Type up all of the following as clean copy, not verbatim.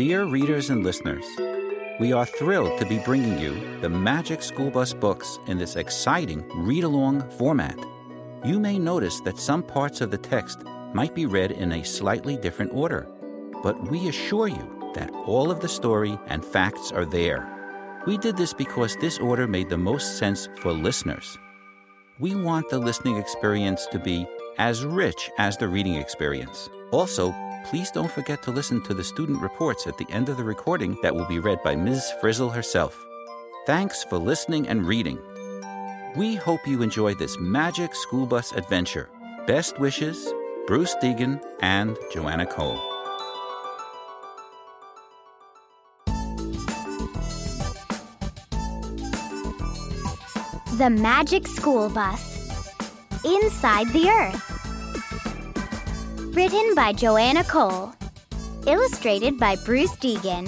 Dear readers and listeners, we are thrilled to be bringing you the Magic School Bus books in this exciting read-along format. You may notice that some parts of the text might be read in a slightly different order, but we assure you that all of the story and facts are there. We did this because this order made the most sense for listeners. We want the listening experience to be as rich as the reading experience. Also, please don't forget to listen to the student reports at the end of the recording that will be read by Ms. Frizzle herself. Thanks for listening and reading. We hope you enjoy this Magic School Bus adventure. Best wishes, Bruce Deegan and Joanna Cole. The Magic School Bus. Inside the Earth. Written by Joanna Cole. Illustrated by Bruce Deegan.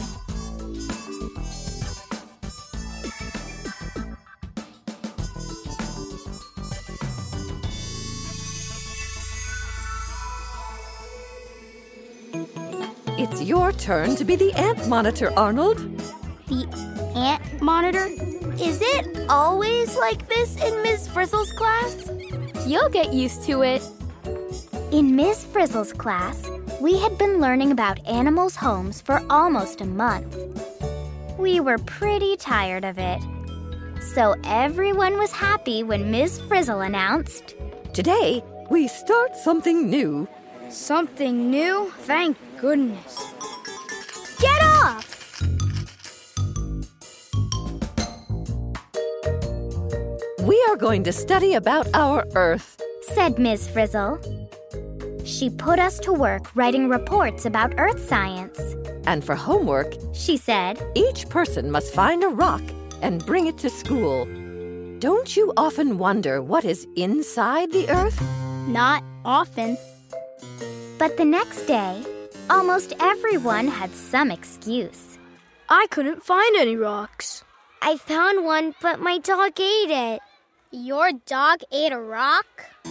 It's your turn to be the ant monitor, Arnold. The ant monitor? Is it always like this in Ms. Frizzle's class? You'll get used to it. In Ms. Frizzle's class, we had been learning about animals' homes for almost a month. We were pretty tired of it. So everyone was happy when Ms. Frizzle announced, Today, we start something new. Something new? Thank goodness. "Get off!" We are going to study about our Earth, said Ms. Frizzle. She put us to work writing reports about Earth science. And for homework, She said, each person must find a rock and bring it to school. Don't you often wonder what is inside the Earth? Not often. But the next day, almost everyone had some excuse. I couldn't find any rocks. I found one, but my dog ate it. Your dog ate a rock?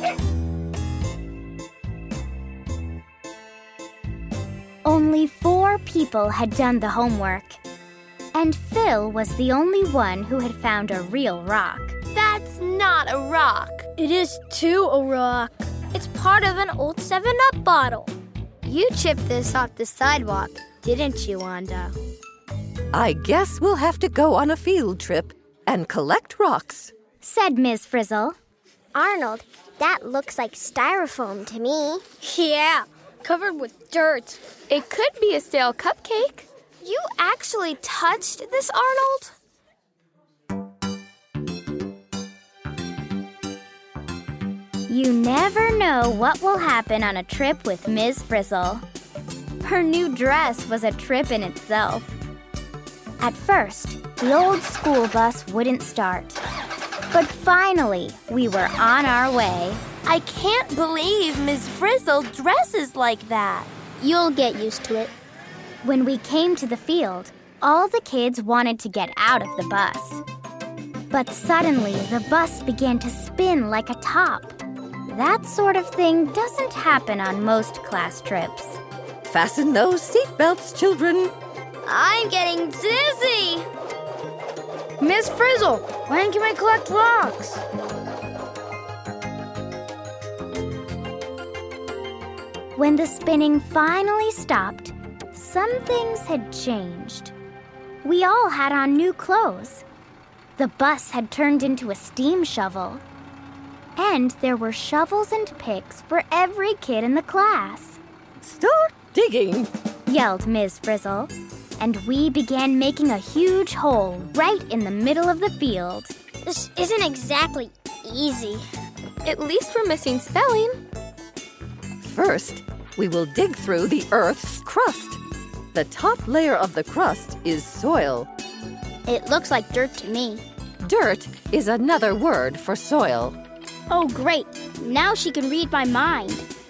Only 4 people had done the homework. And Phil was the only one who had found a real rock. That's not a rock. It is too a rock. It's part of an old 7-Up bottle. You chipped this off the sidewalk, didn't you, Wanda? I guess we'll have to go on a field trip and collect rocks, said Ms. Frizzle. Arnold, that looks like styrofoam to me. Yeah, covered with dirt. It could be a stale cupcake. You actually touched this, Arnold? You never know what will happen on a trip with Ms. Frizzle. Her new dress was a trip in itself. At first, the old school bus wouldn't start. But finally, we were on our way. I can't believe Ms. Frizzle dresses like that. You'll get used to it. When we came to the field, all the kids wanted to get out of the bus. But suddenly, the bus began to spin like a top. That sort of thing doesn't happen on most class trips. Fasten those seatbelts, children. I'm getting dizzy. Miss Frizzle, when can we collect rocks? When the spinning finally stopped, some things had changed. We all had on new clothes. The bus had turned into a steam shovel. And there were shovels and picks for every kid in the class. Start digging, yelled Ms. Frizzle. And we began making a huge hole right in the middle of the field. This isn't exactly easy. At least we're missing spelling. First, we will dig through the Earth's crust. The top layer of the crust is soil. It looks like dirt to me. Dirt is another word for soil. Oh, great. Now she can read my mind.